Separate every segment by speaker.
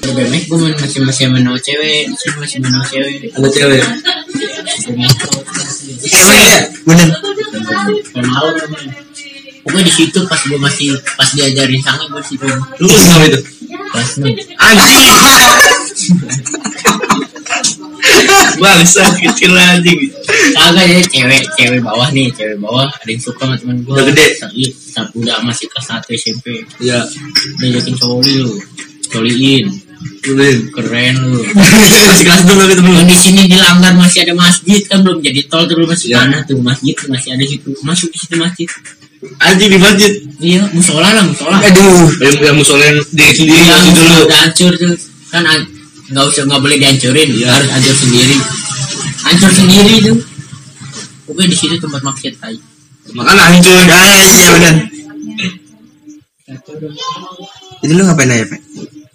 Speaker 1: BMX gue masih menau cewek, masih menau cewek.
Speaker 2: Ada cewek.
Speaker 3: Cewek ya, bener.
Speaker 1: Malu namanya. Pokoknya di situ pas diajarin sange gue situ.
Speaker 2: Lu kenapa itu?
Speaker 1: Kelas 6.
Speaker 2: Anjing. Bangsa kecil anjing.
Speaker 1: Kagak ya cewek bawah nih, cewek bawah ada yang suka sama temen gue.
Speaker 2: Udah gede.
Speaker 1: Udah masih kelas 1 SMP.
Speaker 2: Iya.
Speaker 1: Diajakin coliin. Keren lu.
Speaker 2: Masih kelas 2 gitu belum.
Speaker 1: Di sini di Langgar masih ada masjid kan, belum jadi tol tuh, masih tanah tuh masjid tuh masih ada situ. Masuk di situ masjid.
Speaker 2: Anjing di masjid.
Speaker 1: Iya, musola.
Speaker 3: Aduh,
Speaker 2: yang musola diri sendiri
Speaker 1: Iya,
Speaker 2: gitu dulu.
Speaker 1: udah hancur tuh. Kan nggak boleh dihancurin, harus hancur sendiri. Hancur sendiri tuh. Pokoknya di situ tempat maksiat tai.
Speaker 2: Makanya hancur guys, ya benar.
Speaker 3: itu lu ngapain aja, Pak?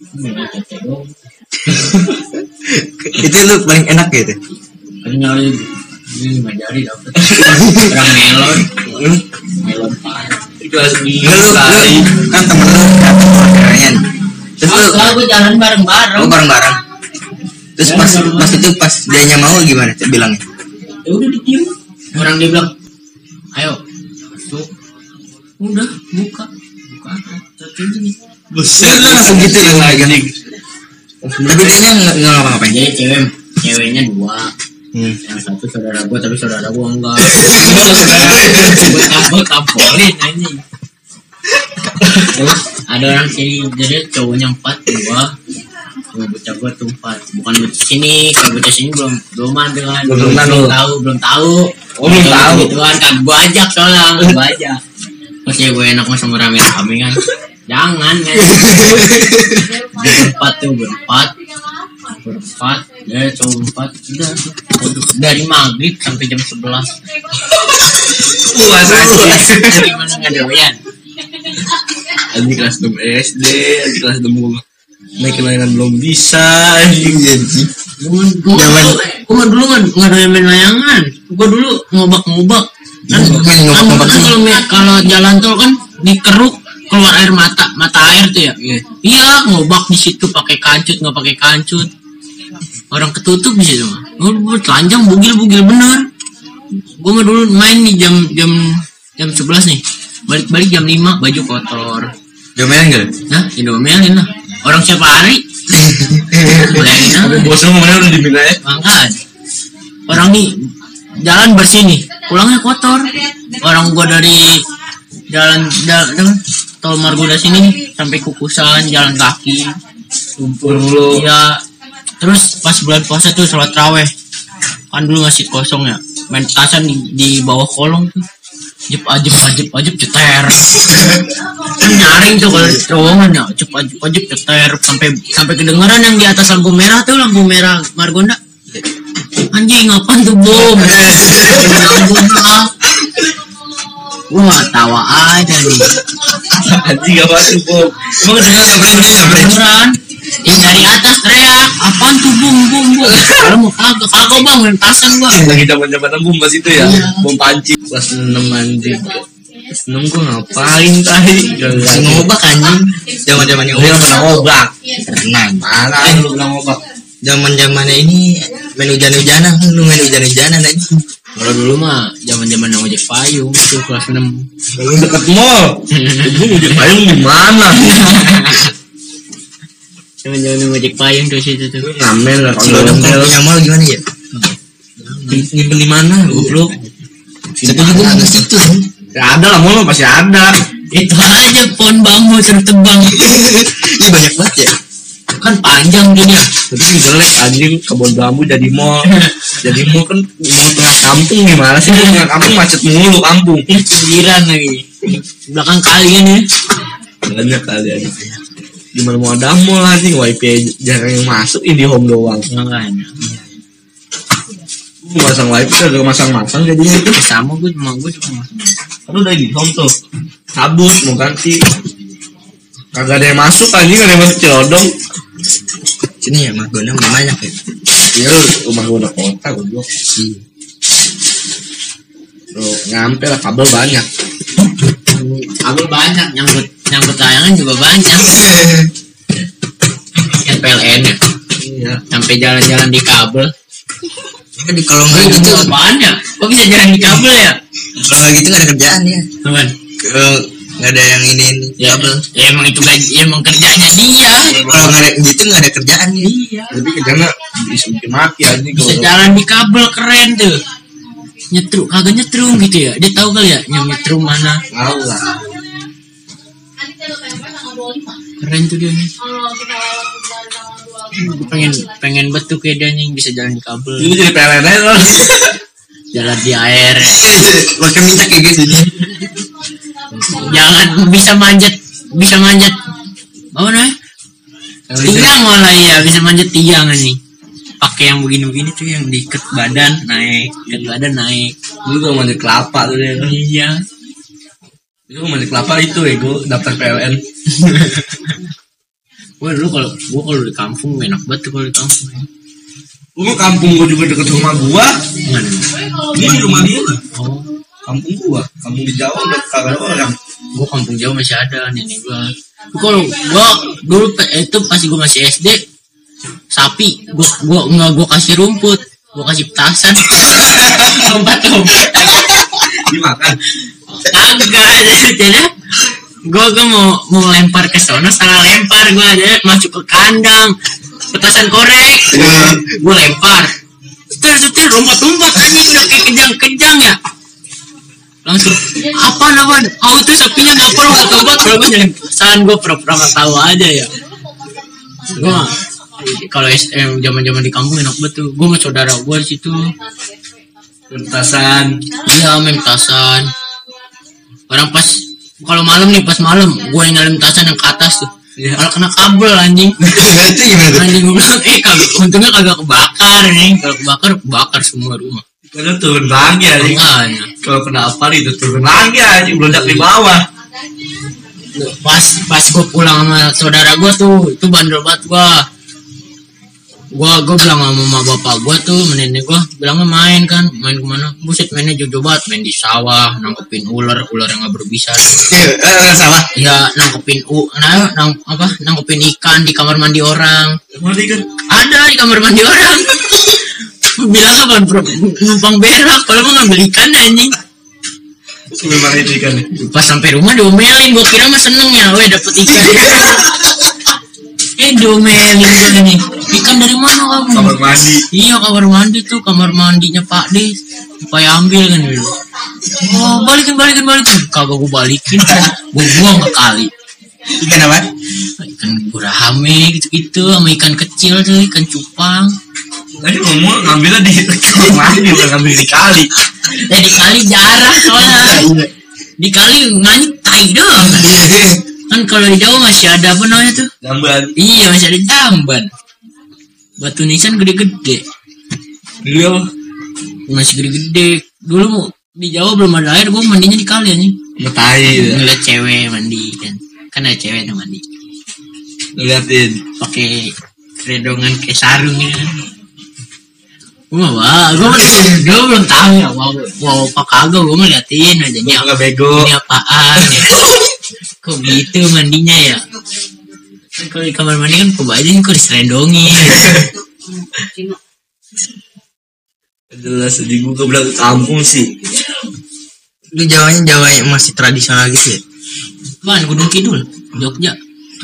Speaker 3: Itu lu paling enak gitu.
Speaker 1: Kan nyari ini majari dapet. Orang melon parah.
Speaker 2: Kelas
Speaker 3: Lu
Speaker 2: 2
Speaker 3: kan temen lu dapet orderannya. Terus lu
Speaker 1: Gue jalan bareng-bareng.
Speaker 3: bareng-bareng. Terus pas itu pas dianya mau gimana bilangnya?
Speaker 1: Ya udah ditiup. Orang dia bilang, ayo masuk. Udah buka nih.
Speaker 2: Buset,
Speaker 3: Langsung gitu ya lagi.
Speaker 2: anjing.
Speaker 3: Tapi dia nggak ngapa-ngapain.
Speaker 1: Jadi ceweknya 2. Yang satu saudara gue, tapi saudara gue enggak. Gue tampolin anjing. Terus ada orang sini, jadi cowoknya 4, 2 bocah gue tuh 4. Bukan bocah sini, kalau bocah sini belum ada kan. Belum tahu.
Speaker 2: Oh, belum tahu.
Speaker 1: Gitu kan gue ajak soalnya, gue ajak. Pas ya gue enak sama rame-rame kan. Jangan kan. Berempat. Ya cowok 4 udah dari maghrib sampai jam 11.
Speaker 2: Puas anjing.
Speaker 1: Gimana nggak doyan?
Speaker 2: Anjing kelas 6 SD, anjing kelas 6 gua naik layangan belum bisa anjing.
Speaker 1: Gue dulu nggak doyan main layangan. Gue dulu ngobak kan kalau jalan tol kan dikeruk keluar air mata air tuh ya. Iya ngobak di situ pakai kancut nggak pakai kancut. Orang ketutup di situ mah. Gue telanjang bugil bener. Gue mah dulu main nih jam 11 nih. Balik jam 5 baju kotor.
Speaker 3: Jomelin gak?
Speaker 1: Nah, diomelin lah. Orang siapa hari? Boleh nah.
Speaker 2: Bosnya ngomongnya udah diminta ya.
Speaker 1: Mangkat. Orang nih jalan bersih nih, pulangnya kotor. Orang gua dari jalan tol Margonda sini nih, sampai Kukusan jalan kaki.
Speaker 2: Lumpur mulu.
Speaker 1: Iya. Terus pas bulan puasa tuh sholat raweh. Kan dulu masih kosong ya. Main petasan di bawah kolong tuh. Ajep ceter. Kan nyaring tuh kalau terowongan ya, ajep ceter sampai kedengeran yang di atas lampu merah Margonda. Anjing apaan tuh bom? Wah tawa aja nih.
Speaker 2: Anjing apa tuh bom? Emang
Speaker 1: Kedengeran. Dari atas teriak, apaan tuh bom? Kalau mau kagak bang, main tasan gua.
Speaker 2: Lagi zaman bom pas itu ya, bom panci. Kelas 6 anjing. Kelas 6 gua ngapain tadi?
Speaker 3: Ngobak anjing. Zaman-zamannya
Speaker 2: Dia pernah ngobak.
Speaker 3: Tenang.
Speaker 2: Mana lu pernah ngobak?
Speaker 3: Zaman-zamannya ini main hujan-hujanan, lu main hujan-hujanan aja.
Speaker 1: Kalau dulu mah zaman ojek payung itu kelas 6.
Speaker 2: Kalau deket mall. Gua ngojek payung di mana?
Speaker 1: Zaman ojek payung tuh situ tuh.
Speaker 2: Ngamel lah
Speaker 3: Kalau udah punya mall gimana ya?
Speaker 2: Nyimpen di mana? Goblok.
Speaker 3: Situ juga nggak situ.
Speaker 2: Ya ada lah, mall pasti ada.
Speaker 1: Itu aja pohon bambu tertebang.
Speaker 3: Iya banyak banget ya.
Speaker 1: Kan panjang dunia.
Speaker 2: Tapi jelek anjing, kebun bambu jadi mall. Jadi mall kan mau tengah kampung gimana sih? Tengah kampung macet mulu kampung.
Speaker 1: Pinggiran lagi. Belakang kalian ya.
Speaker 2: Banyak kali aja. Gimana mau ada mall anjing, wifi jarang yang masuk, IndiHome doang.
Speaker 1: Makanya.
Speaker 2: Masang wifi kagak masang-masang jadinya itu.
Speaker 1: Sama gue cuma masang.
Speaker 2: Kan udah IndiHome tuh. Cabut mau ganti. Kagak ada yang masuk anjing, ada yang masuk Cilodong.
Speaker 3: Sini ya Margonda banyak ya.
Speaker 2: Iya, rumah gua udah kota goblok. Tuh, nyampe lah, kabel banyak.
Speaker 1: Kabel banyak, nyangkut layangan juga banyak. PLN ya.
Speaker 2: Iya.
Speaker 1: Sampai jalan-jalan di kabel.
Speaker 3: Kan kalau nggak gitu,
Speaker 1: apaan ya? Kok bisa jalan di kabel ya?
Speaker 3: kalau nggak gitu nggak ada kerjaan ya.
Speaker 1: Teman.
Speaker 3: Nggak ada yang ini
Speaker 1: Ya,
Speaker 3: kabel.
Speaker 1: ya emang itu gaji, emang kerjanya dia.
Speaker 3: Kalau nggak ada gitu nggak ada kerjaan ya.
Speaker 1: Iya.
Speaker 2: Tapi kerjanya bisa bikin mati aja
Speaker 1: Bisa jalan di kabel, keren tuh. Nyetrum, kagak nyetrum gitu ya. Dia tahu kali ya nyetrum mana.
Speaker 2: Tahu lah.
Speaker 1: Keren tuh dia nih. Pengen betul kayak dia nih bisa jalan di kabel.
Speaker 2: Ini jadi PLN aja loh.
Speaker 1: Jalan di air.
Speaker 3: Pakai minyak kayak gitu nih.
Speaker 1: Jangan bisa manjat apa namanya? Tiang malah ya, bisa manjat tiang nih. Pakai yang begini-begini tuh yang diikat badan naik.
Speaker 2: Dulu gue mandi kelapa tuh dia.
Speaker 1: Iya.
Speaker 2: Itu mandi kelapa itu ya gue daftar PLN.
Speaker 1: Gue dulu kalau di kampung enak banget tuh kalau di kampung.
Speaker 2: Gue kampung gue juga deket rumah gua.
Speaker 1: Mana?
Speaker 2: Ini di rumah dia.
Speaker 1: Oh,
Speaker 2: Kampung gua, kampung di Jawa udah kagak ada orang.
Speaker 1: gue kampung jauh masih ada nenek gue. Kalau gue dulu itu pas gue masih SD, sapi gue kasih rumput, gue kasih petasan, lompat
Speaker 2: Dimakan.
Speaker 1: kagak jadi gue mau lempar ke sana, salah lempar gue aja masuk ke kandang, petasan korek gue lempar, setir lompat anjing udah kayak kejang ya, langsung apaan itu sapinya ngapa lompat kalau gue nyelip petasan, gue pura-pura nggak tahu aja ya. Gue kalau zaman di kampung enak banget tuh, gue sama saudara gue di situ
Speaker 2: Petasan.
Speaker 1: iya main petasan. Orang kalau malam gue yang nyalain petasan yang ke atas tuh.
Speaker 2: Iya.
Speaker 1: Kalau kena kabel anjing.
Speaker 3: Itu gimana tuh?
Speaker 1: Anjing gue bilang, untungnya kagak kebakar nih. Kalau kebakar semua rumah.
Speaker 2: Karena turun lagi aja.
Speaker 1: Makanya.
Speaker 2: Kalau kena apa itu turun lagi aja, meledak di bawah.
Speaker 1: Pas gue pulang sama saudara gue tuh, itu bandel banget gue bilang sama bapak gue tuh, nenek gue bilangnya main kemana, buset mainnya jojo banget, main di sawah, nangkepin ular yang nggak berbisa.
Speaker 3: Sawah.
Speaker 1: Ya nangkepin nangkepin ikan di kamar mandi orang.
Speaker 2: Mandi kan?
Speaker 1: Ada di kamar mandi orang. Bilang apa numpang berak, kalau mau ngambil ikan anjing.
Speaker 2: Memang itu ikan.
Speaker 1: Pas sampai rumah diomelin, gue kira mah seneng ya, dapet ikan. Diomelin gue nih. Ikan dari mana kamu?
Speaker 2: Kamar mandi.
Speaker 1: Iya kamar mandi tuh, kamar mandinya Pak De. Supaya ambil kan dulu. Oh balikin. Kagak gue balikin, gue buang ke kali.
Speaker 3: Ikan apa?
Speaker 1: Ikan gurame gitu sama ikan kecil tuh, ikan cupang.
Speaker 2: Tadi ngomong ngambilnya di kamar mandi, bukan ngambil di kali.
Speaker 1: Di kali jarang soalnya. Di kali ngantai doang. Kan kalau di Jawa masih ada apa namanya tuh?
Speaker 2: Jamban.
Speaker 1: Iya masih ada jamban. Batu nisan gede-gede.
Speaker 2: Iya.
Speaker 1: Masih gede-gede. Dulu di Jawa belum ada air, gue mandinya di kali nih.
Speaker 2: Ngetai.
Speaker 1: Ngeliat cewek mandi kan ada cewek tuh mandi.
Speaker 2: Ngeliatin.
Speaker 1: Pakai keredongan kayak sarung gitu. Gue belum tahu ya. Wow apa kagak, gue ngeliatin aja.
Speaker 2: Nggak bego.
Speaker 1: Ini apaan ya? Kok gitu mandinya ya? Kalau di kamar mandi kan kebajikan kok diserendongin.
Speaker 2: Jelas di gue bilang ke kampung sih.
Speaker 3: Lu Jawa masih tradisional gitu ya?
Speaker 1: Kan Gunung Kidul, Jogja.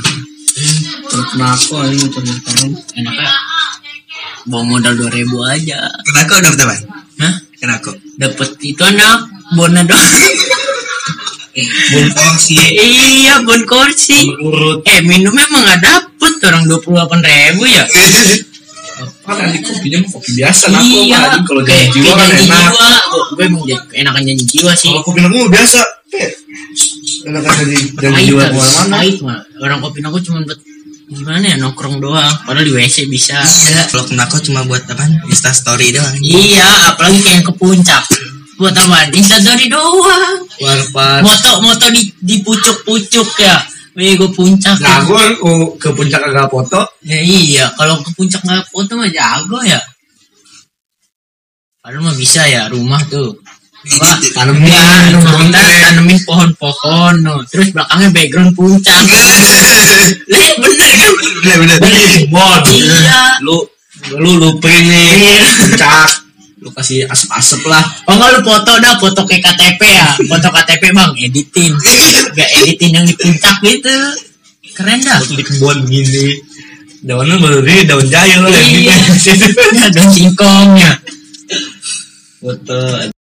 Speaker 2: Kenapa ini teman-teman?
Speaker 1: Enaknya bawa modal 2.000 aja.
Speaker 3: Kenako dapet apa?
Speaker 1: Hah?
Speaker 3: Kenako?
Speaker 1: Dapat itu anak bona doang.
Speaker 2: Bon kursi.
Speaker 1: Iya, bon kursi.
Speaker 2: Urut.
Speaker 1: Minumnya emang nggak dapet orang 28.000 ya.
Speaker 2: Kan nanti kopinya kopi biasa.
Speaker 1: Iya.
Speaker 2: Kalau janji jiwa kan enak.
Speaker 1: Gue emang enakan janji jiwa sih.
Speaker 2: Kalau kopi aku biasa. Enakan janji jiwa kemana-mana.
Speaker 1: Pahit mah. Orang kopi aku cuma buat gimana ya, nongkrong doang. Padahal di WC bisa.
Speaker 3: Iya. Kalau kenako cuma buat apa? Insta story doang.
Speaker 1: Iya, apalagi kayak yang ke puncak. Buat apa? Insta story doang.
Speaker 2: Warpat.
Speaker 1: Moto di pucuk-pucuk ya. Gue puncak.
Speaker 2: Jago ke puncak agak foto.
Speaker 1: Ya iya, kalau ke puncak nggak foto mah jago ya. Padahal mah bisa ya, rumah tuh
Speaker 2: Tanemin
Speaker 1: kita tanemin pohon-pohon, no. Terus belakangnya background puncak. Lihat bener kan?
Speaker 2: bener bon.
Speaker 1: Iya.
Speaker 2: Lu lupain nih puncak, lu kasih asap-asap lah.
Speaker 1: Oh enggak, lu foto kayak KTP ya, foto KTP bang, editin, gak editin yang di puncak gitu, keren dah.
Speaker 2: Foto di kebun gini, daunnya baru ini daun jahil lah.
Speaker 1: Iya, daun singkongnya.
Speaker 2: Foto.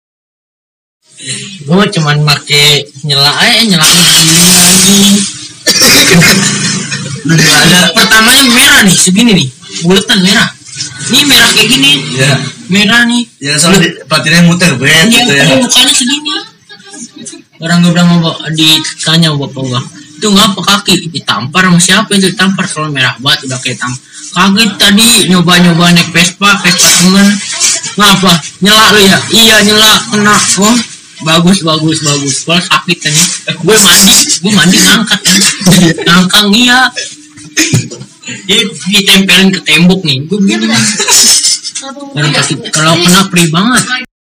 Speaker 1: Gue cuman make nyala gini anjing. Pertamanya merah nih, segini nih, buletan merah. Ini merah kayak gini.
Speaker 2: Iya.
Speaker 1: Merah nih.
Speaker 2: Ya soalnya pelatihnya muter
Speaker 1: Iya,
Speaker 2: gitu ya.
Speaker 1: mukanya segini. Orang gue bilang mau ditanya bapak gua, itu ngapa kaki ditampar sama siapa itu, ditampar kalau merah banget udah kayak tampar. Kaget tadi nyoba naik Vespa temen. Ngapa? Nyela lu ya? Iya nyela, kena. Oh, bagus. Kalau sakit kan. Gue mandi ngangkat kan. Ngangkang iya. Dia ditempelin ke tembok nih. Gue begini. Kalau kena perih banget.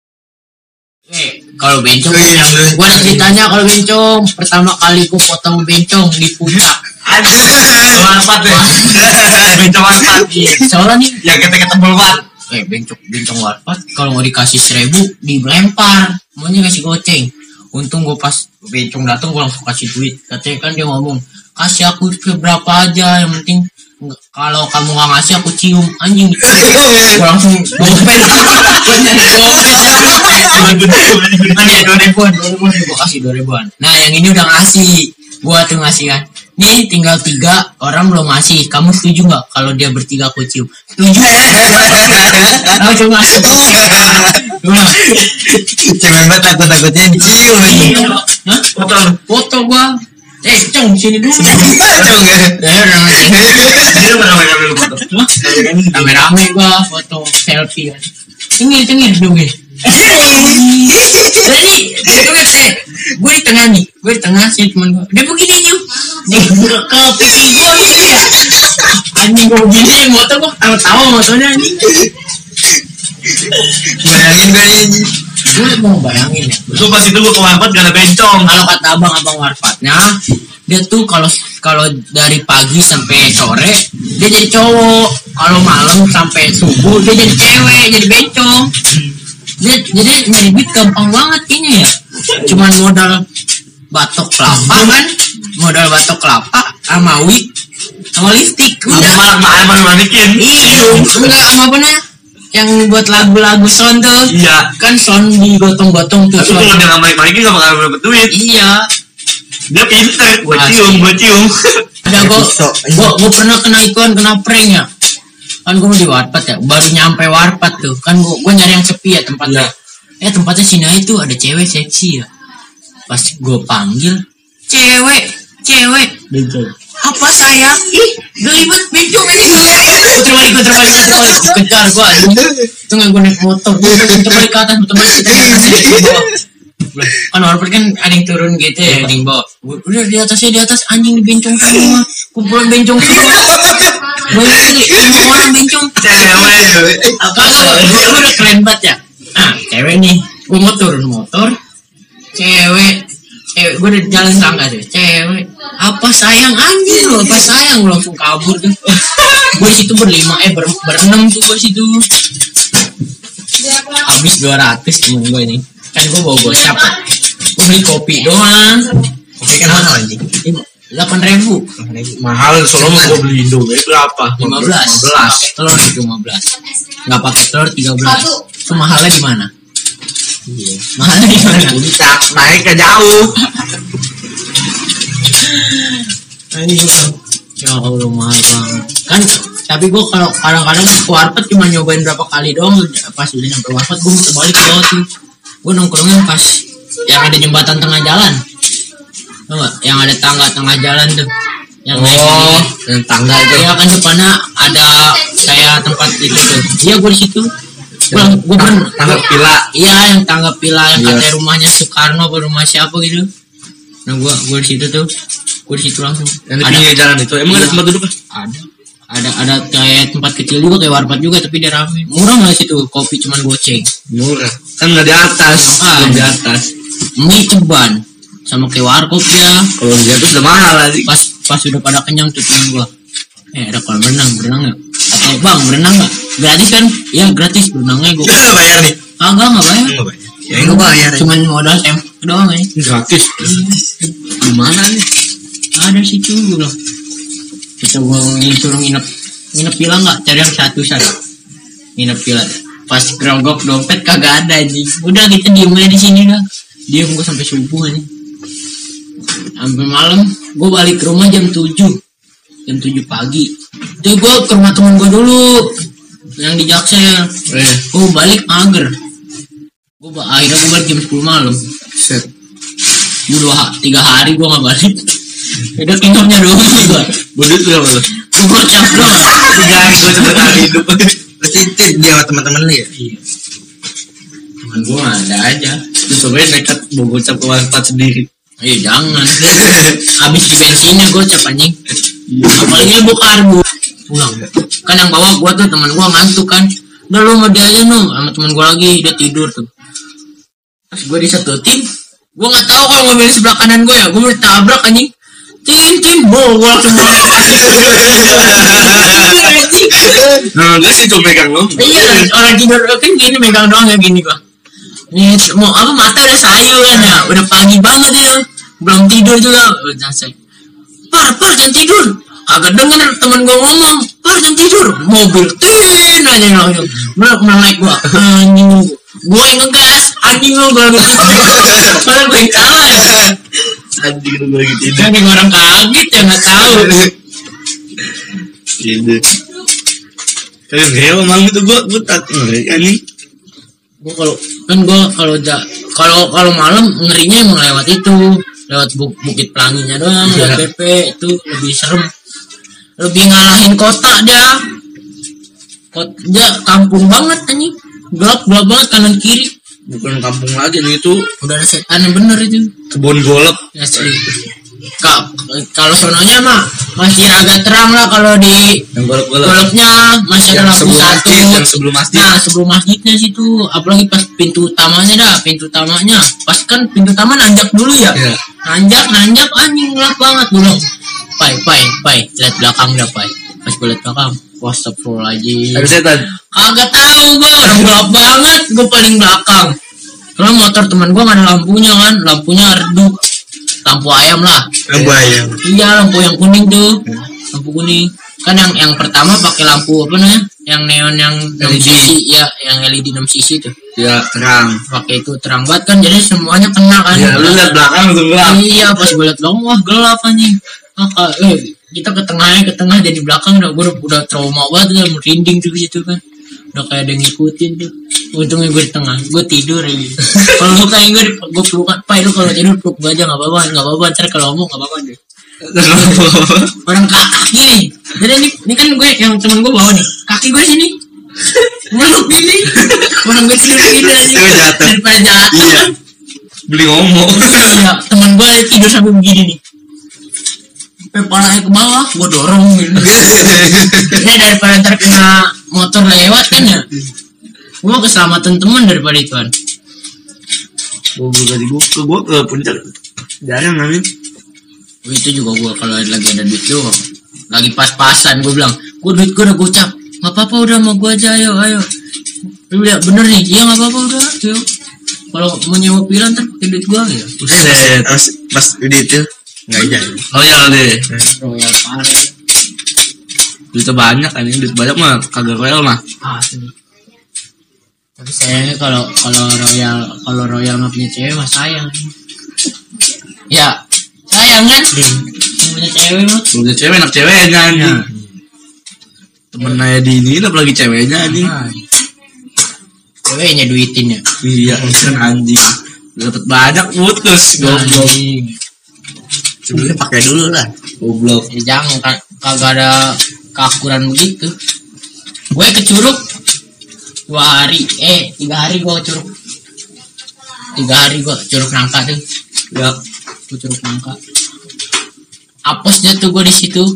Speaker 1: Kalau bencong, gue ada ceritanya kalau bencong. Pertama kali gue potong bencong di puncak.
Speaker 2: Warpat deh. Bencong warpat.
Speaker 1: Soalnya nih,
Speaker 2: yang kita banget.
Speaker 1: Bencong warpat kalau mau dikasih 1.000 dilempar, maunya kasih goceng. Untung gue pas bencong datang gue langsung kasih duit. Katanya kan dia ngomong, kasih aku berapa aja, yang penting kalau kamu nggak ngasih aku cium. Anjing, gue langsung gopen. Gue 2.000-an, gue kasih 2.000-an. Nah yang ini udah ngasih, gue tuh ngasih kan. Nih tinggal 3 orang belum ngasih. Kamu setuju nggak kalau dia bertiga aku cium? Setuju. Langsung ngasih.
Speaker 3: Cewek banget takut-takutnya dicium aja.
Speaker 1: Hah? Foto gua. Cong sini dulu.
Speaker 3: Cong ya.
Speaker 2: Dia rame-rame lu foto.
Speaker 1: Rame-rame gua foto selfie kan. Cengir dong ya. Jadi gue di tengah sih temen gue. Dia begini nyum. Dia ke pipi gue gitu ya. Anjing gue begini motor gue tahu motornya anjing.
Speaker 3: Bayangin gue anjing.
Speaker 1: Gue mau bayangin ya.
Speaker 2: Lu pas itu gue ke warpat gak ada bencong.
Speaker 1: Kalau kata abang warpatnya, dia tuh kalau dari pagi sampai sore dia jadi cowok, kalau malam sampai subuh dia jadi cewek, jadi bencong. Jadi nyari duit gampang banget kayaknya ya. Cuman modal batok kelapa kan, sama wig, sama lipstick.
Speaker 2: Udah manikin.
Speaker 1: Iya, enggak sama apa namanya? Yang buat lagu-lagu sound tuh.
Speaker 2: Iya.
Speaker 1: Kan sound digotong-gotong tuh.
Speaker 2: Tapi kalau dia nggak manikin nggak bakal dapet duit.
Speaker 1: Iya.
Speaker 2: Dia pinter. Gue cium.
Speaker 1: Ada gue pernah kena prank ya. Kan gue di warpat ya, baru nyampe warpat tuh kan gue nyari yang sepi ya tempatnya. Tempatnya sini itu ada cewek seksi ya. Pas gue panggil cewek
Speaker 2: Bencong.
Speaker 1: apa sayang, ih gelibet bencong aja gue terbalik kejar gue itu nggak gue naik motor gue terbalik ke atas kan warpat kan ada yang turun gitu ya, ada yang bawa. Udah di atas anjing di bencong semua, kumpulan bencong semua. Gue ini 5 orang bencong.
Speaker 2: Cewek.
Speaker 1: Gue udah keren banget ya. Nah cewek nih, gue mau turun motor, cewek gue udah jalan tangga tuh, cewek apa sayang anjing lo, apa sayang lo, langsung kabur tuh. Gue di situ berenam tuh gue situ. Habis 200 temen gue ini. Kan gue bawa gocap, gue beli kopi doang.
Speaker 3: Kopi kan mahal anjing.
Speaker 1: 8.000.
Speaker 2: Mahal soalnya gue beli Indomie berapa?
Speaker 1: 15. Telur itu 15. Nggak pakai telur 13. Itu mahalnya di mana?
Speaker 3: Iya.
Speaker 1: Mahalnya di mana?
Speaker 2: Puncak naik ke jauh.
Speaker 1: Ya Allah mahal banget. Kan tapi gue kalau kadang-kadang ke warpat cuma nyobain berapa kali doang. Pas udah nyampe warpat gue muter balik ke bawah tuh. Gue nongkrongnya pas yang ada jembatan tengah jalan. Tau gak? Yang ada tangga tengah jalan tuh. Yang
Speaker 3: yang tangga itu.
Speaker 1: Ya kan depannya ada kayak tempat itu tuh. Iya gue di situ. Gue
Speaker 2: Tangga pila.
Speaker 1: Iya yang tangga pila yang katanya rumahnya Soekarno atau rumah siapa gitu. Nah gue di situ tuh. Gue di situ langsung.
Speaker 2: Yang di pinggir jalan itu. Emang ada tempat duduk?
Speaker 1: Ada kayak tempat kecil juga kayak warpat juga tapi dia rame. Murah nggak situ kopi cuman goceng.
Speaker 2: Murah. Kan nggak di atas,
Speaker 1: Ah.
Speaker 2: belum di atas.
Speaker 1: Mie ceban sama kayak warkop ya.
Speaker 2: Kalau di atas udah mahal lagi.
Speaker 1: Pas udah pada kenyang tuh temen gua. Ada kolam berenang nggak? Atau bang berenang nggak? Gratis kan? Ya gratis berenangnya gua.
Speaker 3: Bayar nih.
Speaker 1: Kagak nggak bayar.
Speaker 3: Enggak bayar. Ya enggak bayar.
Speaker 1: Cuman modal doang ya.
Speaker 2: Gratis. Gimana nih?
Speaker 1: Ada situ gua bilang. Kita gua suruh nginep villa nggak? Cari yang satu. Nginep villa. Pas gerogok dompet kagak ada anjing. Udah kita diem aja di sini dah. Diem gua sampai subuh anjing. Sampai malam gua balik ke rumah jam 7 pagi. Tuh gua ke rumah temen gua dulu yang di Jaksel. Gua balik mager. Akhirnya gua balik jam 10 malam.
Speaker 2: Set.
Speaker 1: Gua 3 hari gua nggak balik. Udah kinopnya doang gua.
Speaker 2: Bodit berapa lo?
Speaker 1: Gua gocap doang.
Speaker 2: 3 hari gue sebentar hidup.
Speaker 3: Berarti dia sama teman-teman lu ya?
Speaker 1: Iya. Temen gua ada aja.
Speaker 2: Terus sebenarnya nekat mau gocap ke warpat sendiri.
Speaker 1: Jangan. Habis di bensinnya gocap anjing. Apalagi lu karbu pulang. Kan yang bawa gua tuh teman gua ngantuk kan. Udah lu sama dia aja no, sama teman gua lagi dia tidur tuh. Pas gua disetutin, gua nggak tahu kalau mobil sebelah kanan gua ya, gua mau tabrak anjing. Tin bol gua langsung
Speaker 2: Nah, dia sih cuma megang lo.
Speaker 1: Iya, orang tidur kan gini megang doang ya gini gua. Ini mau apa mata udah sayu kan ya, udah pagi banget ya, belum tidur juga. Udah saya, par jangan tidur. Agak denger teman gua ngomong, par jangan tidur. Mobil tin aja langsung, melek gua. Anjing gua yang ngegas, anjing gua lagi tidur. Padahal gua yang salah ya.
Speaker 2: Anjing lu lagi tidur.
Speaker 1: Kan yang orang kaget ya nggak tahu.
Speaker 2: Tidur. Kayak hewa malam itu gue tak ngeri anjing.
Speaker 1: Kalau malam ngerinya emang lewat itu, lewat Bukit Pelanginya doang, lewat PP itu lebih serem, lebih ngalahin kota dia. Dia kampung banget anjing, gelap banget kanan kiri.
Speaker 2: Bukan kampung lagi nih, itu
Speaker 1: Udah ada setan yang bener itu.
Speaker 2: kebun golep.
Speaker 1: Asli. Kalau sononya mah masih agak terang lah, kalau di
Speaker 2: Yang golep-golep.
Speaker 1: golopnya masih ada lampu satu.
Speaker 2: Yang sebelum masjid.
Speaker 1: Nah sebelum masjidnya situ, apalagi pas pintu utamanya, pas kan pintu utama nanjak dulu ya.
Speaker 2: Iya.
Speaker 1: Nanjak anjing gelap banget dulu. Pai, lihat belakang dah pai. Pas gue lihat belakang, astagfirullahaladzim.
Speaker 2: Ada setan.
Speaker 1: Kagak tahu gue, orang gelap banget, gue paling belakang. Karena motor teman gue nggak ada lampunya kan, lampunya redup, lampu ayam lah.
Speaker 3: Lampu ayam.
Speaker 1: Iya, lampu yang kuning tuh, lampu kuning. Kan yang pertama pakai lampu apa namanya? Yang neon yang 6
Speaker 2: LED.
Speaker 1: sisi, ya, yang LED 6 sisi tuh.
Speaker 2: Ya terang.
Speaker 1: Pakai itu terang banget kan, jadi semuanya kena kan.
Speaker 2: Ya lu lihat belakang langsung gelap.
Speaker 1: Iya, pas gue liat belakang, wah gelap anjing. Kita ke tengah jadi belakang udah trauma banget, udah merinding tuh gitu kan. Udah kayak ada yang ngikutin tuh. Untungnya gue di tengah, gue tidur aja. Kalau lu kayak gue pelukan, Pai lu kalau tidur peluk gue aja nggak apa-apa. Ntar kalau ngomong nggak apa-apa deh. Orang kaki nih. Jadi ini kan gue yang temen gue bawa nih, kaki gue sini. Meluk gini. Orang gue tidur gini aja.
Speaker 2: Jatuh.
Speaker 1: Daripada jatuh.
Speaker 2: Iya. Beli ngomong.
Speaker 1: Iya, temen gue tidur sampai begini nih. Kepalanya ke bawah, gue dorong gitu. Ini daripada ntar kena motor lewat kan ya. Gue keselamatan teman daripada itu kan.
Speaker 2: Gue ke puncak jarang namanya.
Speaker 1: Itu juga gue kalau lagi ada duit doang. Lagi pas-pasan gue bilang, duit gue udah gocap. Gak apa-apa udah mau gue aja, ayo. Lu lihat bener nih, iya gak apa-apa udah. Ayo. Kalau mau nyewa pira ntar pakai duit gue ya.
Speaker 3: Pas udah itu nggak jadi.
Speaker 2: Royal deh.
Speaker 1: Royal parah.
Speaker 2: Duitnya banyak kan, duit banyak mah kagak royal mah.
Speaker 1: Asli. Tapi sayangnya kalau royal nggak punya cewek mah sayang. Ya sayang kan? Yang punya cewek mah.
Speaker 2: Punya cewek enak ceweknya anjing. Temen aja di ini apalagi ceweknya anjing.
Speaker 1: Ceweknya duitin ya.
Speaker 2: Iya kan anjing. Dapat banyak putus goblok.
Speaker 3: Sebenarnya pakai dulu lah.
Speaker 2: Goblok.
Speaker 1: Jangan kagak ada keakuran begitu. Gue ke Curug 3 hari gue ke Curug. 3 hari gue ke Curug Nangka tuh.
Speaker 2: Ya.
Speaker 1: Ke Curug Nangka. Apesnya tuh gue di situ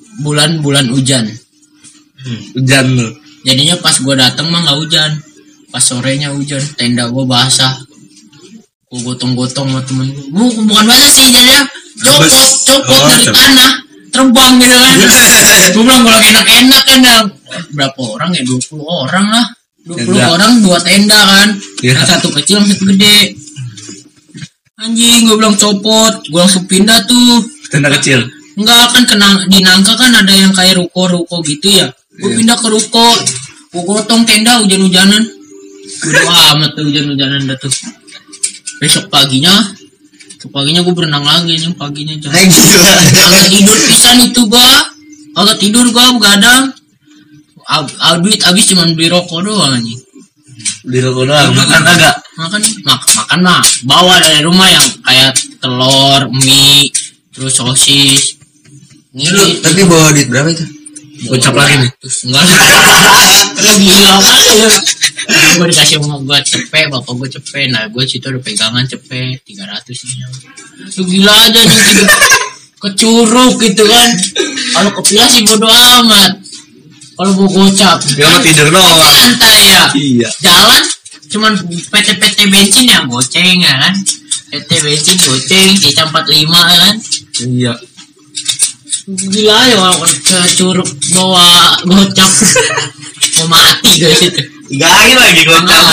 Speaker 1: bulan hujan.
Speaker 2: Hujan lu.
Speaker 1: Jadinya pas gue dateng mah nggak hujan. Pas sorenya hujan, tenda gua basah. Gua gotong-gotong sama temen gua. Bukan basah sih, jadi copot dari tanah, terbang gitu kan. Gua bilang gua lagi enak-enak kan. Berapa orang ya? 20 orang lah. 20 orang 2 tenda kan. Yang satu kecil, yang satu gede. Anjing, gua bilang copot. Gua langsung pindah tuh.
Speaker 2: Tenda kecil.
Speaker 1: Enggak kan di nangka kan ada yang kayak ruko-ruko gitu ya. Gue pindah ke ruko, gue gotong tenda hujan-hujanan. Udah amat tuh hujan-hujanan dah tuh. Besok paginya gue berenang lagi nih paginya jam. Agak tidur pisan itu agak tidur gue begadang. Duit habis cuma beli rokok doang nih.
Speaker 2: Beli rokok doang, makan agak.
Speaker 1: Makan mah bawa dari rumah yang kayak telur, mie, terus sosis.
Speaker 3: Tapi bawa duit berapa itu?
Speaker 2: Gocap lagi nih.
Speaker 1: Enggak gila banget. Gue dikasih sama gue cepet, bapak gue cepet. Nah gue situ ada pegangan cepet 300 nih. Lu gila aja nih gitu. Kecuruk gitu kan. Kalau kepilah sih bodo amat. Kalau mau gocap
Speaker 2: dia mah tidur doang.
Speaker 1: Santai ya.
Speaker 2: Iya.
Speaker 1: Jalan cuman PT bensin yang goceng ya kan. PT bensin goceng C45 kan.
Speaker 2: Iya.
Speaker 1: Gila ya kalau curug bawa gocap mau mati guys itu.
Speaker 2: Lagi gocap.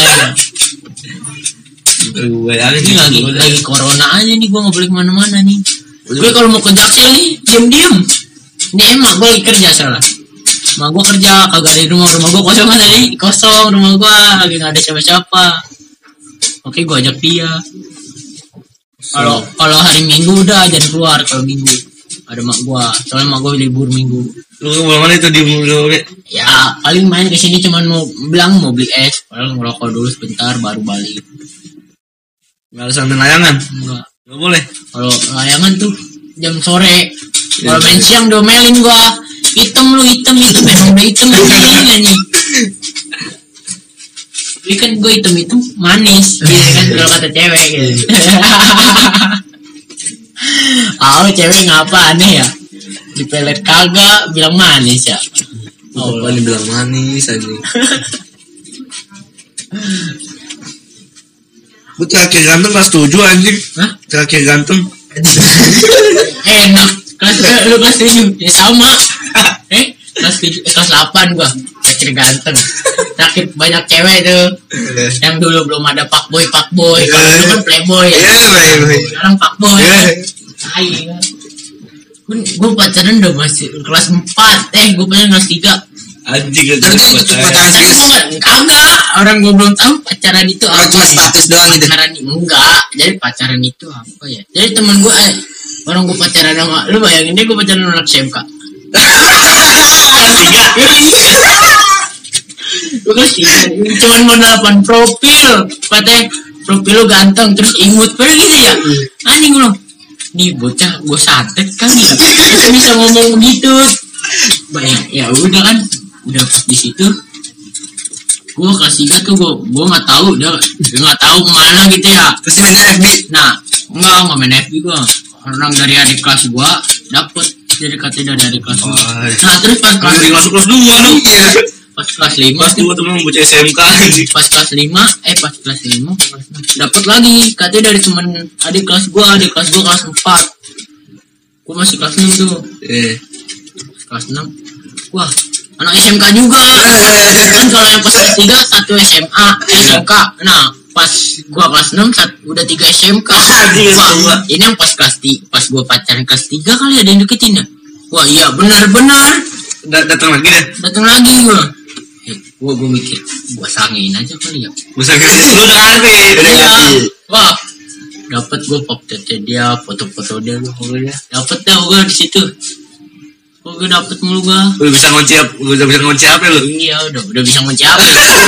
Speaker 1: Ini lagi corona aja nih, gue nggak boleh kemana-mana nih. Gue kalau mau ke Jaksel nih diam. Ini emak gue lagi kerja salah. Emak gue kerja kagak di rumah gue kosong kan tadi, kosong rumah gue lagi nggak ada siapa-siapa. Oke gue ajak dia. Kalau hari Minggu udah jangan keluar kalau Minggu. Ada mak gua, soalnya mak gua libur Minggu.
Speaker 2: Lu mana itu di Minggu?
Speaker 1: Ya paling main ke sini cuman mau beli es, paling ngerokok dulu sebentar baru balik.
Speaker 2: Nggak ada sambil layangan?
Speaker 1: Enggak.
Speaker 2: Nggak boleh.
Speaker 1: Kalau layangan tuh jam sore. Kalau main siang domelin gua. Hitam memang udah hitam ini. Tapi kan gua hitam manis, gitu kan kalau kata cewek gitu. Cewek ngapa aneh ya? Dipelet kagak bilang manis ya.
Speaker 3: Allah dibilang manis aja.
Speaker 2: Gue terakhir ganteng kelas 7 anjing.
Speaker 1: Hah?
Speaker 2: Terakhir ganteng.
Speaker 1: Enak. Lu kelas 7 ya sama. Kelas 8 gua terakhir ganteng. Terakhir banyak cewek tuh. Yang dulu belum ada fuckboy. Kalau dulu kan playboy ya. Sekarang fuckboy. Hai. Gue pacaran udah masih kelas 4. Gue pacaran kelas 3.
Speaker 2: Anjing
Speaker 3: itu pacaran serius?
Speaker 1: Kagak. Orang gue belum tahu pacaran itu apa.
Speaker 3: Cuma status doang gitu.
Speaker 1: Pacaran enggak. Jadi pacaran itu apa ya? Jadi teman gue orang gue pacaran sama lu bayangin deh gue pacaran anak SMK. Kelas 3. Gue kelas 3. Cuman mau nelfon profil. Katanya profil lu ganteng terus imut. Padahal gitu ya. Anjing lu. Nih bocah gue santet kan ya. Bisa ngomong begitu. Banyak ya udah kan. Udah pas di situ. Gue kelas 3 tuh gue nggak tahu dia nggak tahu kemana gitu ya.
Speaker 3: Terus main FB.
Speaker 1: Nah nggak main FB gue. Orang dari adik kelas gue dapet jadi katanya dari adik kelas gue. Nah terus pas kelas
Speaker 2: masuk kelas 2 lu.
Speaker 1: Iya. Pas kelas 5
Speaker 2: kelas 2 temen bocah SMK.
Speaker 1: Pas kelas 5 dapat lagi katanya dari temen adik kelas gue kelas 4. Gue masih kelas 6 tuh. Kelas 6. Wah anak SMK juga. Kan kalau yang pas kelas 3 satu SMA SMK. Nah pas gue kelas 6 udah 3 SMK. Wah ini yang pas kelas 3 pas gue pacaran kelas 3 kali ada yang deketin ya. Wah iya benar
Speaker 2: datang
Speaker 1: lagi gue. Gue mikir gue sangin aja kali ya.
Speaker 2: Gue sangin lu udah ngerti.
Speaker 1: Wah dapat gue pop dia foto-foto dia lu pokoknya. Dapat dah gue di situ. Gue dapet mulu gue.
Speaker 2: Udah bisa ngunci apa lu?
Speaker 1: Iya udah bisa ngunci apa.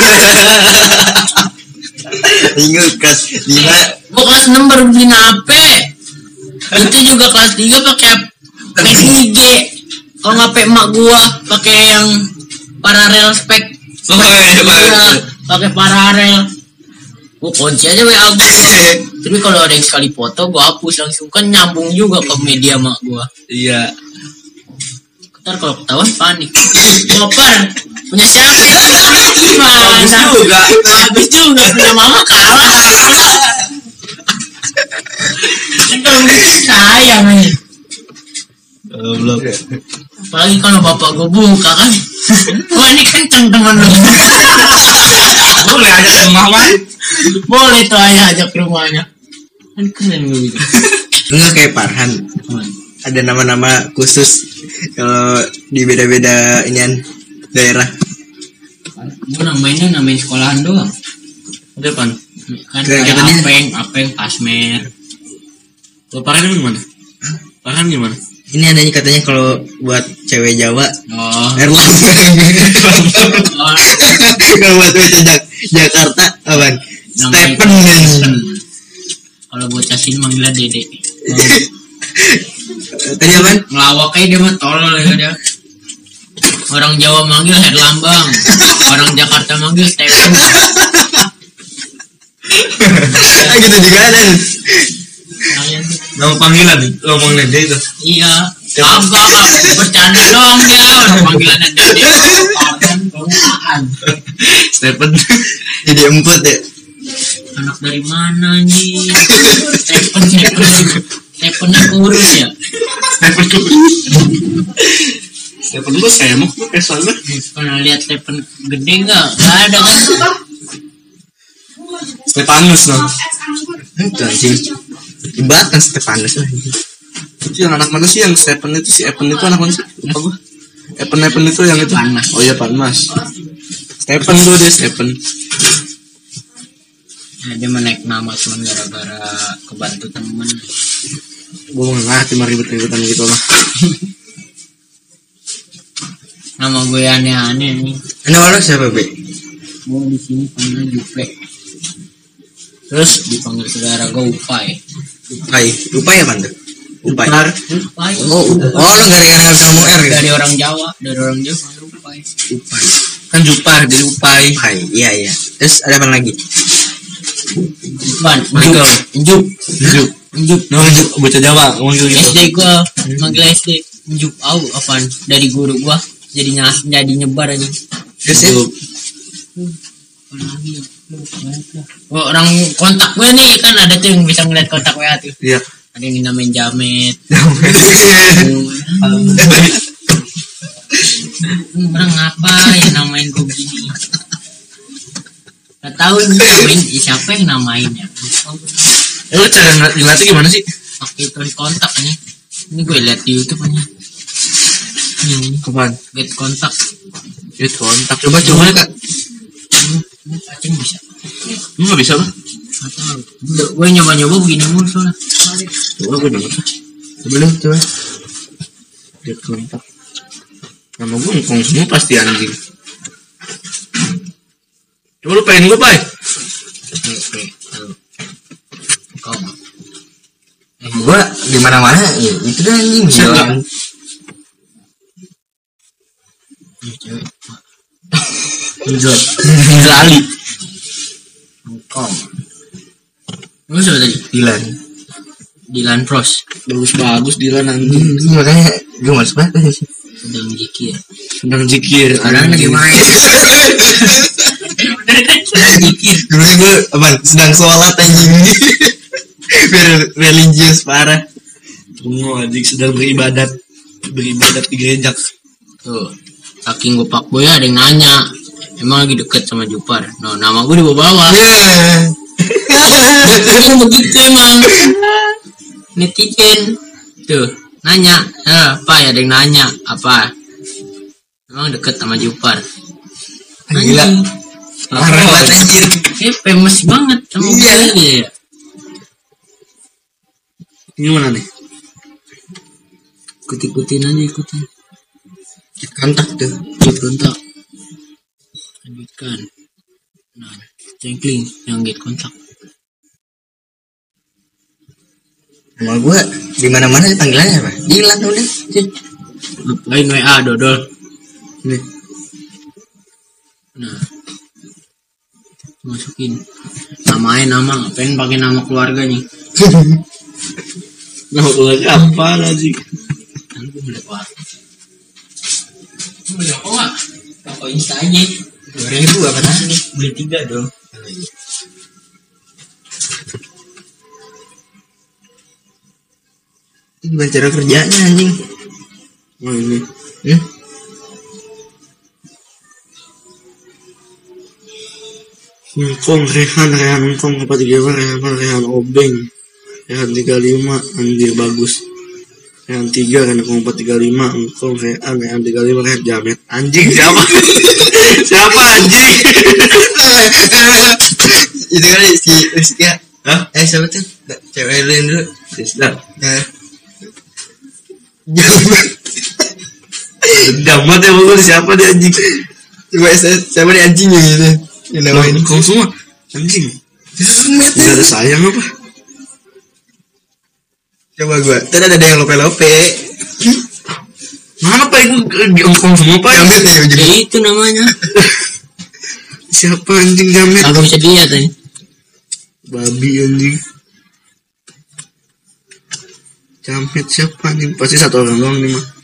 Speaker 3: Ingat kelas 5.
Speaker 1: Gue kelas 6 baru beli HP. Itu juga kelas 3 pakai PG. Kalau nggak pakai emak gue pakai yang paralel spek. Pakai paralel. Gue kunci aja WA gue. Tapi kalau ada yang sekali foto gue hapus langsung kan nyambung juga ke media mak gue.
Speaker 2: Iya.
Speaker 1: Ntar kalau ketahuan panik. Koper punya siapa? Gimana? Habis juga punya mama kalah. Kalau gitu sayang nih.
Speaker 2: Belum.
Speaker 1: Apalagi kalau bapak gue buka kan. Wah ini kenceng teman lu.
Speaker 2: Boleh aja ke rumah man.
Speaker 1: Boleh tuh ayah ajak ke rumahnya. Kan keren lu gitu.
Speaker 3: Enggak kayak Farhan. Ada nama-nama khusus kalau di beda-beda inian daerah.
Speaker 1: Gue namain sekolahan doang.
Speaker 2: Udah pan.
Speaker 1: Kan kayak apeng, pasmer.
Speaker 2: Kalau Farhan gimana? Farhan gimana?
Speaker 3: Ini adanya katanya kalau buat cewek Jawa Erlangga. Kalau buat cewek Jakarta apaan? Stephen.
Speaker 1: Kalau bocah sini manggilnya Dede.
Speaker 3: Tadi apaan?
Speaker 1: Ngelawak aja dia mah tolol ya dia. Orang Jawa manggil Herlambang, orang Jakarta manggil Stephen.
Speaker 3: Gitu juga ada.
Speaker 2: Nama panggilan lo ngomongin dia itu.
Speaker 1: Iya. Kagak bercanda doang dia. Orang panggilannya Dede.
Speaker 2: Stephen.
Speaker 3: Jadi emput ya.
Speaker 1: Anak dari mana nih? Stephennya kurus ya.
Speaker 2: Stephen lu semok tuh kayak soalnya.
Speaker 1: Pernah lihat Stephen gede nggak? Nggak ada kan?
Speaker 2: Stefanus no.
Speaker 3: Itu anjing. Jembatan Stefanus lah.
Speaker 2: Itu yang anak mana sih yang Stephen itu si Evan itu anak mana sih? Lupa gua. Evan itu yang itu.
Speaker 1: Panmas.
Speaker 2: Oh iya Panmas. Stephen tuh dia Stephen.
Speaker 1: Nah, dia menaik nama cuman gara-gara kebantu temen.
Speaker 2: Gua nggak ngerti mah ribet-ribetan gitu lah.
Speaker 1: Nama gue aneh-aneh nih.
Speaker 3: Nama lo siapa Be?
Speaker 1: Gue di sini panggil Jupe. Terus dipanggil saudara gue Upai.
Speaker 3: Upai apa tuh? Upai.
Speaker 1: Upai.
Speaker 3: Oh lo gara-gara kamu R gitu?
Speaker 1: Dari orang Jawa panggil Upai.
Speaker 3: Upai.
Speaker 2: Kan Jupar jadi Upai.
Speaker 3: Upai, iya. Terus ada apa lagi?
Speaker 1: Michael. Njuk.
Speaker 2: No, bocah Jawa ngomong gitu.
Speaker 1: SD gue manggil SD. Njuk apaan? Dari guru gue jadi nyebar aja.
Speaker 3: Terus ya?
Speaker 1: Orang kontak gue nih kan ada tuh yang bisa ngeliat kontak WA tuh.
Speaker 2: Iya.
Speaker 1: Ada yang dinamain Jamet. Orang ngapa ya namain gue gini? Gak tahu nih namain siapa yang namainnya.
Speaker 2: Lu cara ngeliatnya gimana sih?
Speaker 1: Pakai tulis kontak nih. Ini gue liat di YouTube aja. Ini
Speaker 2: Kapan?
Speaker 1: get kontak.
Speaker 2: Get kontak. Coba Kak.
Speaker 1: Ini cacing bisa.
Speaker 2: Lu nggak bisa lah.
Speaker 1: Gue nyoba begini mulu soalnya.
Speaker 2: Coba gue denger. Coba. Get kontak. Nama gue ngkong semua pasti anjing. Coba lu pengen gue Pai.
Speaker 1: Kau
Speaker 3: Gua di mana-mana ya, itu dah anjing jalan.
Speaker 2: Ali.
Speaker 1: Kau lu siapa tadi? Dilan Pros.
Speaker 2: Bagus Dilan anjing.
Speaker 3: Makanya gue males banget sih.
Speaker 1: Sedang zikir.
Speaker 3: Orang lagi main.
Speaker 1: Sedang zikir.
Speaker 3: Dulu gue sedang sholat anjing. Religius parah.
Speaker 2: Tunggu anjing sedang beribadat di gereja.
Speaker 1: Tuh, saking gue pak boy ada yang nanya, emang lagi deket sama Jupar. No, nama gue di bawah. Emang begitu emang. Netizen tuh nanya, apa ya ada yang nanya apa? Emang deket sama Jupar.
Speaker 3: Gila. Parah banget anjir.
Speaker 1: Famous banget sama gue ya.
Speaker 2: Gimana nih?
Speaker 1: Ikutin aja.
Speaker 3: Kontak tuh.
Speaker 1: Kontak. Lanjutkan. Nah, cengkling yang get kontak.
Speaker 3: Nama gue di mana-mana panggilannya apa? Dilan udah.
Speaker 1: Ngapain WA dodol.
Speaker 3: Nih.
Speaker 1: Nah. Masukin. Nama ngapain pakai nama keluarga nih?
Speaker 2: Nah, lagi apa lagi?
Speaker 1: Kan gue mulai apa? Mau apa? Apa Insta aja?
Speaker 3: 2000 apa tadi?
Speaker 2: beli 3 dong.
Speaker 3: Gimana cara kerjanya anjing?
Speaker 2: Oh ini. Engkong Rehan Engkong 435 Rehan Obeng Rehan 35 anjir bagus. Rehan 3 Rehan Engkong 435 Engkong Rehan 35 Rehan Jamet anjing siapa? Siapa anjing?
Speaker 3: Itu kali si Rizky.
Speaker 2: Hah?
Speaker 3: Siapa tuh? Cewek lain dulu.
Speaker 2: Rizda.
Speaker 3: Jamet.
Speaker 2: Jamet ya bagus siapa dia anjing?
Speaker 3: Coba siapa nih anjingnya gitu? Yang namain
Speaker 2: Engkong semua anjing.
Speaker 3: Semet.
Speaker 2: Enggak ada sayang apa?
Speaker 3: Coba gua. Tadi ada yang lope-lope.
Speaker 2: Mana pak itu Engkong semua pak?
Speaker 3: Jamet nih ujung.
Speaker 1: Ya itu namanya.
Speaker 2: Siapa anjing Jamet?
Speaker 1: Agak bisa dilihat nih.
Speaker 2: Babi anjing. Jamet siapa anjing? Pasti satu orang doang nih mah.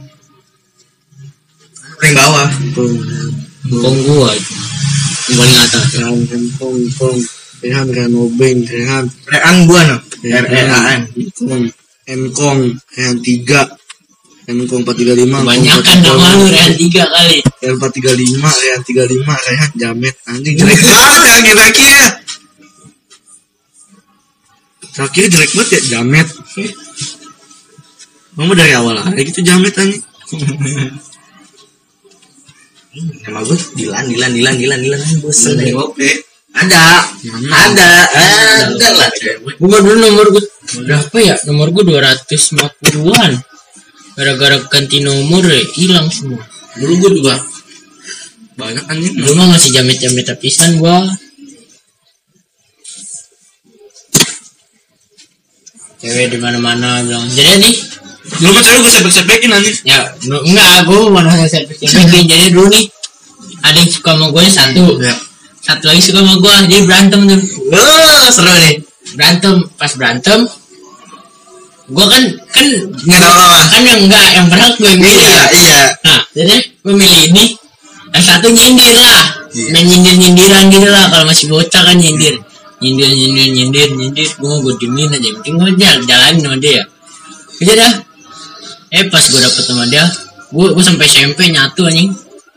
Speaker 3: Paling bawah.
Speaker 1: Kong gua yang paling atas.
Speaker 2: Engkong Rehan Obeng Rehan
Speaker 3: Rean gua no. R-E-A-N.
Speaker 2: Engkong Rehan 3 Engkong 435
Speaker 1: Kebanyakan nama lu Rehan 3 kali.
Speaker 2: Rehan 435 Rehan 35 Rehan Jamet anjing jelek banget ya kira-kira. Terakhir jelek banget ya Jamet. Mama dari awal aja gitu Jamet anjing.
Speaker 3: Nama gue Dilan bosan
Speaker 1: Dilan.
Speaker 3: Oke. Ada lah.
Speaker 1: Gua dulu nomor gua berapa ya? Nomor gua 250-an. Gara-gara ganti nomor hilang semua.
Speaker 2: Dulu gue juga banyak anjing.
Speaker 1: Dulu mah masih jamet-jamet tapisan gua. Cewek di mana-mana bilang, "Jadi nih,
Speaker 2: Dulu kan cewek gue sepek-sepekin anjing.
Speaker 1: ya enggak, gua mana saya jadi dulu nih. Ada yang suka sama gue satu.
Speaker 2: Ya.
Speaker 1: Satu lagi suka sama gua, jadi berantem tuh.
Speaker 3: Seru nih.
Speaker 1: Pas berantem gua kan
Speaker 3: Nggak tahu apa.
Speaker 1: kan yang berhak gue yang milih ya.
Speaker 3: Iya.
Speaker 1: Nah, jadi gue milih ini. Yang satu nyindir lah.
Speaker 3: Iya.
Speaker 1: Main nyindir-nyindiran gitu lah. Kalau masih bocah kan nyindir. Nyindir. Gue diemin aja. Yang penting gue jalanin sama dia. Udah dah. Pas gue dapet sama dia, gue sampai SMP nyatu anjing.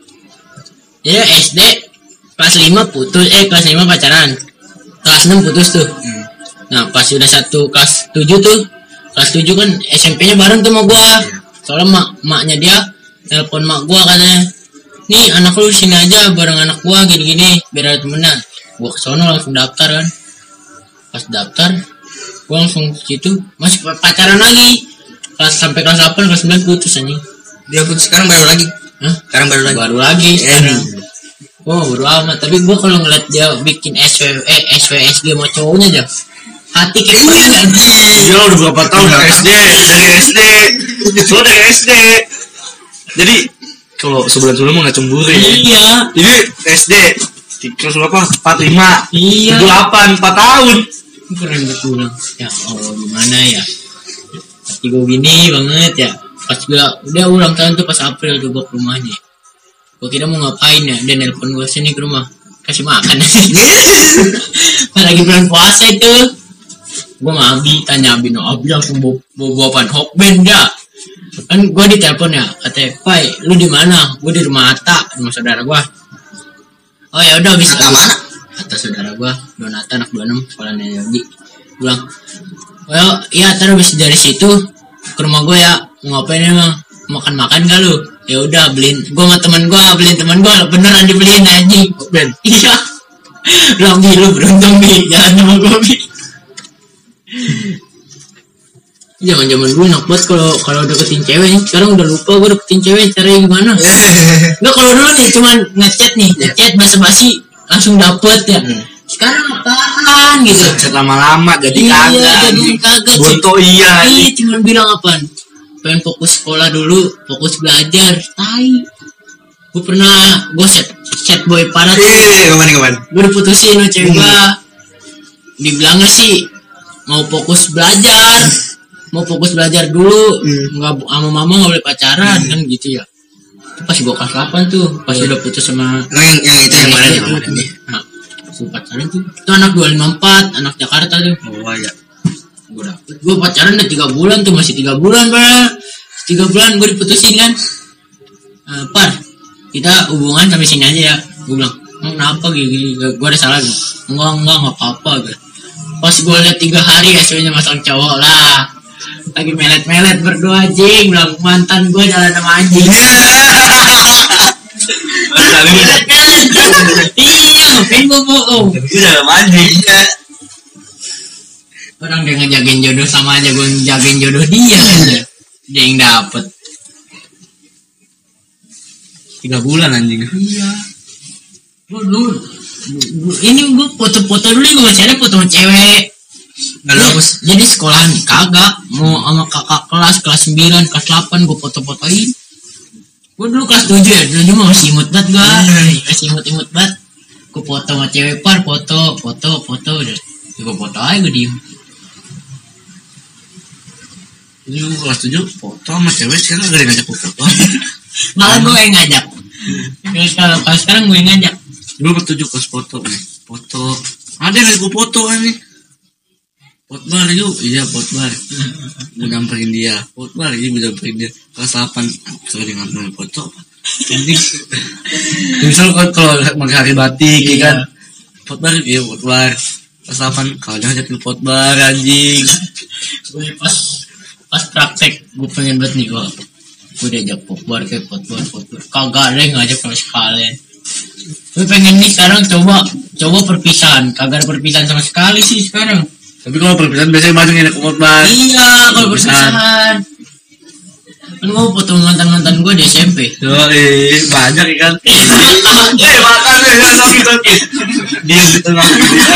Speaker 1: Jadi SD kelas 5 putus. Kelas 5 pacaran. Kelas 6 putus tuh. Nah, pas udah satu kelas 7 tuh. Kelas 7 kan SMP-nya bareng tuh sama gua. Soalnya maknya dia telepon mak gua katanya, "Nih anak lu sini aja bareng anak gua gini-gini biar ada temenan." Gua kesono langsung daftar kan. Pas daftar gua langsung situ masih pacaran lagi. Sampai kelas 8 kelas 9 putus anjing.
Speaker 3: Dia pun sekarang baru lagi.
Speaker 1: Hah?
Speaker 3: Sekarang baru lagi.
Speaker 1: Baru lagi sekarang. Baru amat. Tapi gua kalau ngeliat dia bikin SWSG sama cowoknya aja, hati kayak gimana anjing.
Speaker 2: Iya udah berapa tahun dari SD. Lo dari SD. Jadi kalau sebulan sebelum nggak cemburu ya.
Speaker 1: Iya.
Speaker 2: Jadi SD kelas berapa? 45.
Speaker 1: Iya.
Speaker 2: 8 4 tahun.
Speaker 1: Keren betul. Ya Allah gimana ya. Hati gue gini banget ya. Pas gue udah ulang tahun tuh pas April tuh gue ke rumahnya. Gue kira mau ngapain ya. Dia nelpon gue sini ke rumah. Kasih makan. Pas lagi bulan puasa itu. Gue sama Abi tanya Abi langsung bawa apaan Hokben ya. Kan gue ditelepon ya. Katanya, "Pai, lu di mana?" Gue di rumah Atta, rumah saudara gue. Oh ya udah habis
Speaker 3: Atta mana?
Speaker 1: Atta saudara gua, Donata anak 26 sekolahnya Yogi. Bilang, "Oh iya, ntar habis dari situ ke rumah gua ya. Mau ngapain emang? Makan gak lu?" Ya udah beliin. Gua sama teman gua beliin teman gua beneran dibeliin anjing. Ben. Iya. Bilang, "Bi, lu beruntung Bi, jalan sama gua Bi." Zaman-zaman dulu enak banget kalau deketin cewek nih. Sekarang udah lupa gua deketin cewek caranya gimana. Nggak, kalau dulu nih cuman ngechat basa-basi langsung dapet ya. Sekarang apaan gitu?
Speaker 2: Chat lama-lama jadi kagak.
Speaker 1: Jadi kagak.
Speaker 2: Bonto iya.
Speaker 1: Iya, cuman bilang apaan? Pengen fokus sekolah dulu, fokus belajar. Tai. Gue chat boy parah tuh.
Speaker 3: Iya, kapan?
Speaker 1: Gue diputusin sama cewek gue. Dibilangnya sih mau fokus belajar dulu. Nggak sama mama nggak boleh pacaran kan gitu ya. Pas gue kelas 8 tuh, pas udah putus sama
Speaker 3: yang itu yang mana nih?
Speaker 1: Nah, pacaran tuh, itu anak 254, anak Jakarta tuh.
Speaker 3: Oh ya.
Speaker 1: Gue pacaran udah 3 bulan tuh, masih 3 bulan Pak. 3 bulan gue diputusin kan. Par, kita hubungan sampai sini aja ya. Gue bilang, kenapa gini? Gue ada salah gitu. Enggak apa-apa gitu. Pas gue liat 3 hari hasilnya masang cowok lah. Lagi melet-melet berdua anjing, bilang mantan gue jalan sama anjing. Iya, ngapain gue bohong?
Speaker 3: Itu dalam anjing.
Speaker 1: Orang dia ngejagain jodoh sama aja gue ngejagain jodoh dia aja. Dia yang dapet
Speaker 3: 3 bulan anjing.
Speaker 1: Iya. Ini gue foto-foto dulu, gue masih ada foto cewek.
Speaker 3: Nggak hapus.
Speaker 1: Jadi sekolahan kagak, mau sama kakak kelas 9, kelas 8 gue foto-fotoin. Gue dulu kelas 7 ya, dulu masih imut banget gue. Masih imut banget. Gue foto sama cewek Par, foto udah. Gue foto aja, gue diem.
Speaker 2: Ini lu kelas 7 foto sama cewek, sekarang gak ada yang ngajak foto.
Speaker 1: Malah gue yang ngajak. Kalau sekarang gue yang ngajak.
Speaker 2: Dulu kelas 7 kelas foto nih. Foto. Ada yang ngajak gue foto kan nih. Potbar yuk, iya potbar. Gue nyamperin dia. Potbar, iya gue nyamperin dia. Kelas 8, soalnya dia ngamperin foto. Ini misal kalau hari batik ya kan. Potbar, iya potbar. Kelas 8, kalau dia ngajak potbar anjing.
Speaker 1: Gue pas praktek gue pengen banget nih gue diajak potbar kayak potbar kagak ada yang ngajak sama sekalian. Gue pengen nih sekarang coba perpisahan, kagak ada perpisahan sama sekali sih sekarang.
Speaker 2: Tapi kalau perpisahan biasanya banyak yang ngajak potbar.
Speaker 1: Iya, kalau perpisahan kan gue foto mantan gue di SMP.
Speaker 2: Banyak kan. Makan sakit. Dia di tengah.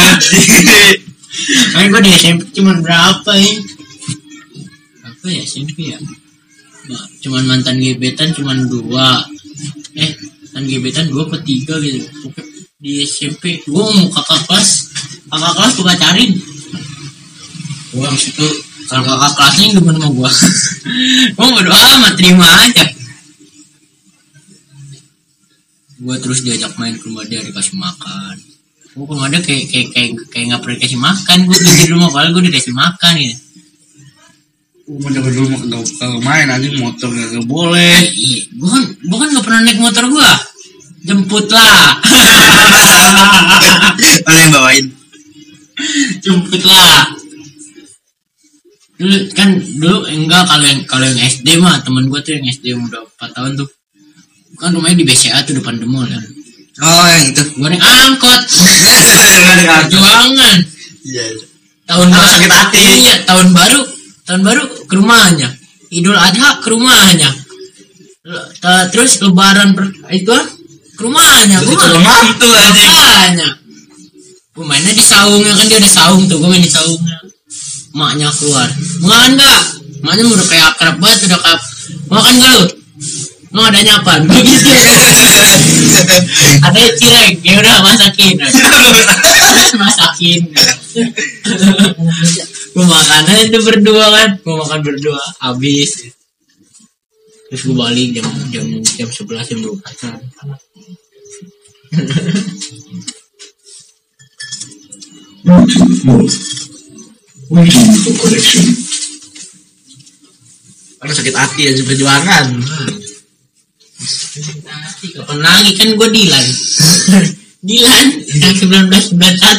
Speaker 1: Main gue di SMP cuma berapa ya? Apa ya SMP ya? Cuman mantan gebetan cuman 2. Mantan gebetan 2 atau 3 gitu. Di SMP gue mau kakak kelas gue pacarin. Gue habis itu kalau kakak kelasnya demen sama gue. Gue bodo amat, terima aja. Gue terus diajak main ke rumah dia, dikasih makan. Gue ke rumah dia kayak nggak pernah dikasih makan. Gue di rumah padahal gue dikasih makan ya.
Speaker 2: Gue dari dulu kalau main aja motor gak boleh.
Speaker 1: Gue kan nggak pernah naik motor gue. Jemput lah.
Speaker 3: Ada yang bawain.
Speaker 1: Jemput lah. Dulu enggak, kalau yang SD mah temen gue tuh yang SD udah 4 tahun tuh. Kan rumahnya di BCA tuh depan demol kan.
Speaker 3: Oh yang itu.
Speaker 1: Gue naik angkot. Perjuangan.
Speaker 3: Iya.
Speaker 1: Tahun baru
Speaker 3: sakit hati.
Speaker 1: Iya, tahun baru ke rumahnya. Idul Adha ke rumahnya. Terus lebaran itu ke rumahnya. Gue
Speaker 3: mantu aja.
Speaker 1: Gue mainnya di saungnya, kan dia ada saung tuh, gue main di saungnya. Maknya keluar. Enggak. Maknya udah kayak akrab banget, udah kayak makan gak lu? Mau adanya apa? Begitu. Ada cireng, ya udah masakin. Gue makan aja itu berdua kan. Gue makan berdua, habis. Terus gue balik jam 11 jam 12.
Speaker 2: Karena sakit hati aja perjuangan.
Speaker 1: Kapan lagi kan gue Dilan yang 1991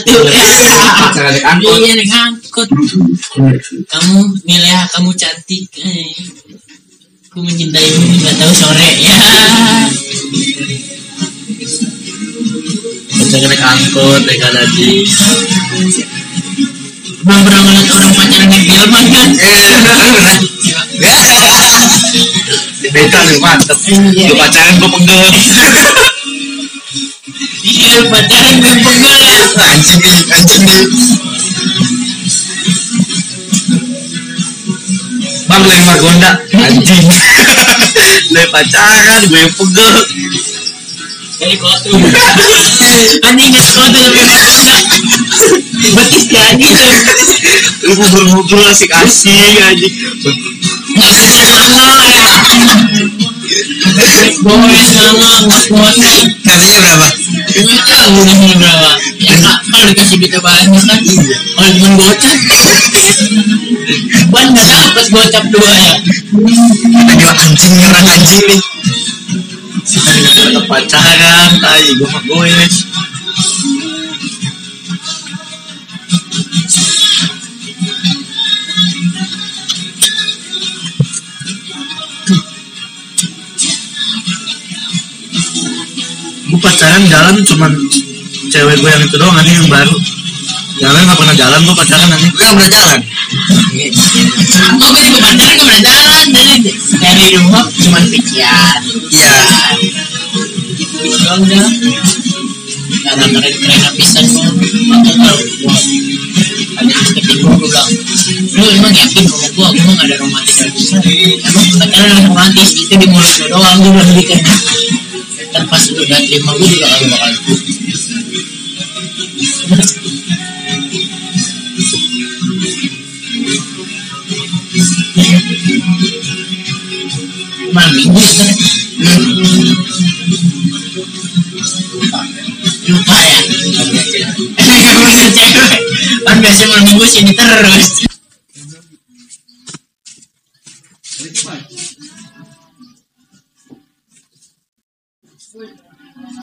Speaker 1: iya naik angkot. Kamu Milea, kamu cantik, aku mencintaimu nggak tahu sore ya.
Speaker 2: Kita naik angkot naik lagi.
Speaker 1: Belum pernah ngeliat orang pacaran naik delman kan?
Speaker 2: Beda nih mantep. Gue pacaran gue pegel.
Speaker 1: Iya pacaran gue pegel ya.
Speaker 3: Anjing nih.
Speaker 2: Bang lempar gonda anjing. Lempar pacaran gue pegel.
Speaker 1: Dari kotu. Anjing dari kotu sampai gonda. Betis jadi tuh.
Speaker 2: Lu ngobrol asik-asik anjing.
Speaker 1: Nggak bisa sama ya. Boys sama bos-bosnya.
Speaker 3: Katanya berapa?
Speaker 1: Gue tahu nih berapa. Ya kak, kalau dikasih duit banyak kan. Kalau cuma gocap. Ban nggak dapat gocap 2 ya.
Speaker 3: Aduh anjing nih, orang anjing nih.
Speaker 2: Pacaran, tai gue mah goes. Gue pacaran jalan cuman cewek gue yang itu doang nih yang baru. Jalan nggak pernah jalan gue pacaran nanti.
Speaker 3: Gue gak pernah jalan.
Speaker 1: Aku gue juga pacaran gak pernah jalan. Dari rumah cuma pikiran.
Speaker 3: Iya.
Speaker 1: Doang dah. Gak ada keren-keren pisan gue. Aku tahu gue. Ada deketin gue bilang, lu emang yakin sama gue mah gak ada romantis yang bisa. Emang pacaran romantis itu di mulut gue doang, gue bilang gitu. Dan pas udah terima gue juga gak bakal. Malam minggu ya lupa ya punya cewek kan biasanya malam minggu sini terus.